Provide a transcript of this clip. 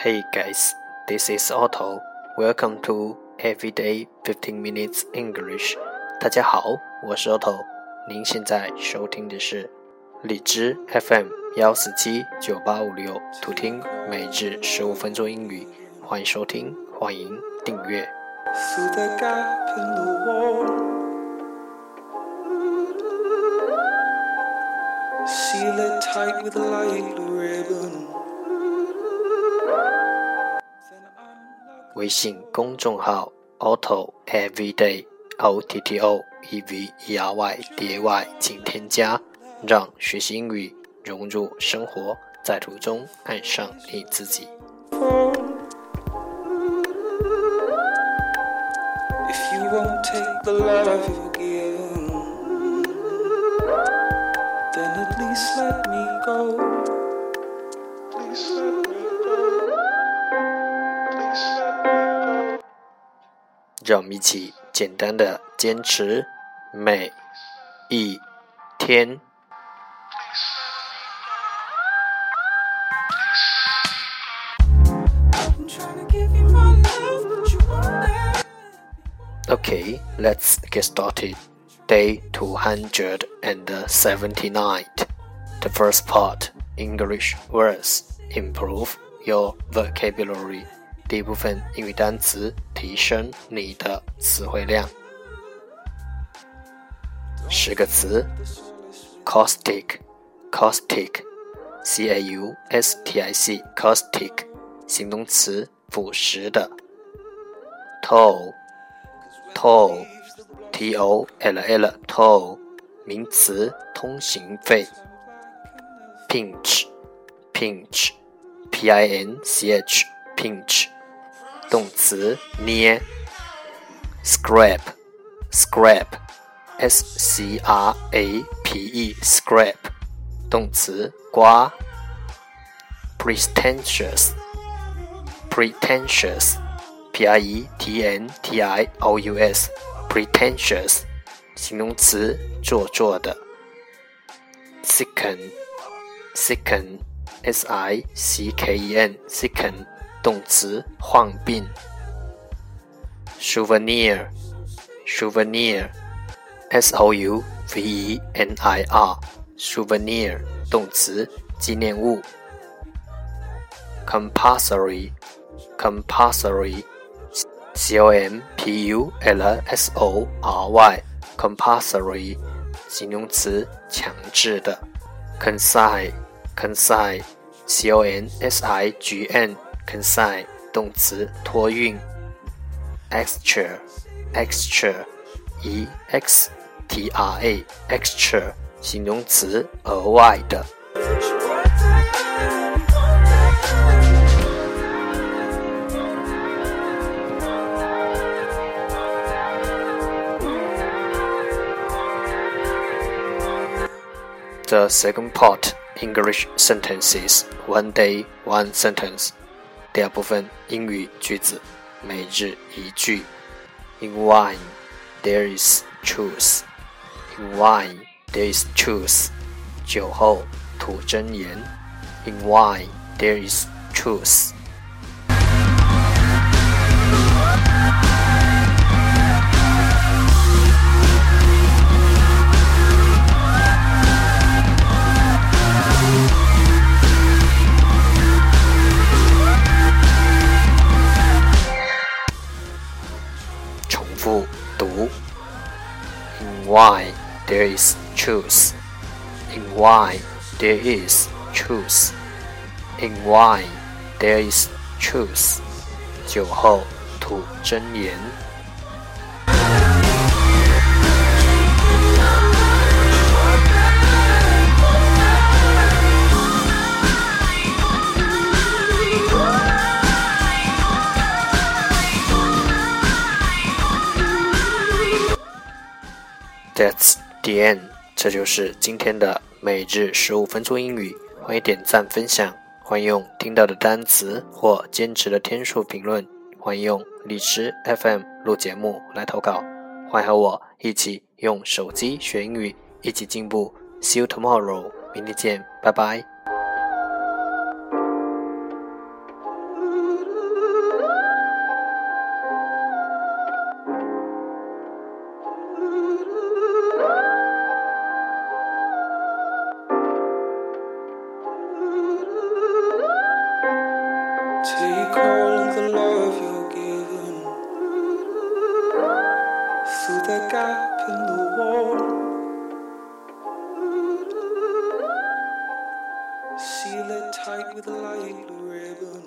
Hey guys, this is Otto. Welcome to Everyday 15 Minutes English. 大家好，我是 Otto。您现在收听的是荔枝 FM 1479856，图听每日15分钟英语。欢迎收听，欢迎订阅。 Through the gap in the wall, seal it tight with a light blue ribbon. 微信公众号 Otto Everyday OTTO EVERYDAY 请添加，让学习英语融入生活，在途中爱上你自己。 If you won't take the love you give, then at least let me go. Please let me go. Please let me go. 让我们一起简单的坚持每一天。 I'm trying to give you my love, but you won't let me. Okay, let's get started. Day 279. The first part, English words. Improve your vocabulary. 第一部分英语单词，提升你的词汇量。10个词 Caustic, Caustic, C-A-U-S-T-I-C, Caustic, 形容词，腐蚀的。Toll, Toll, T-O-L-L, Toll, 名词，通行费。Pinch, Pinch, P-I-N-C-H, Pinch, 动词，捏。Scrape, Scrape, S-C-R-A-P-E, Scrape, 动词，刮。Pretentious, Pretentious, P-R-E-T-N-T-I-O-U-S, Pretentious, 形容词，做作的。Sicken, Sicken, S-I-C-K-E-N, Sicken, 动词，患病。Souvenir, Souvenir, S-O-U-V-E-N-I-R, Souvenir, 动词，纪念物。Compulsory, Compulsory, C-O-M-P-U-L-S-O-R-Y, Compulsory, 形容词，强制的。Consign, Consign, C-O-N-S-I-G-N, Consign, 动词，托运。Extra, Extra, E-X-T-R-A, Extra, 形容词，额外的。The second part, English sentences, one day, one sentence. 第二部分，英语句子，每日一句。In wine, there is truth. In wine, there is truth. 酒后吐真言。In wine, there is truth.复读 In wine there is truth. In wine there is truth. In wine there is truth. 酒后吐真言。That's the end. 这就是今天的每日15分钟英语。欢迎点赞分享，欢迎用听到的单词或坚持的天数评论，欢迎用荔枝 FM 录节目来投稿。欢迎和我一起用手机学英语，一起进步。See you tomorrow. 明天见，拜拜。 Take all of the love you're given through the gap in the wall. Seal it tight with a light blue ribbon.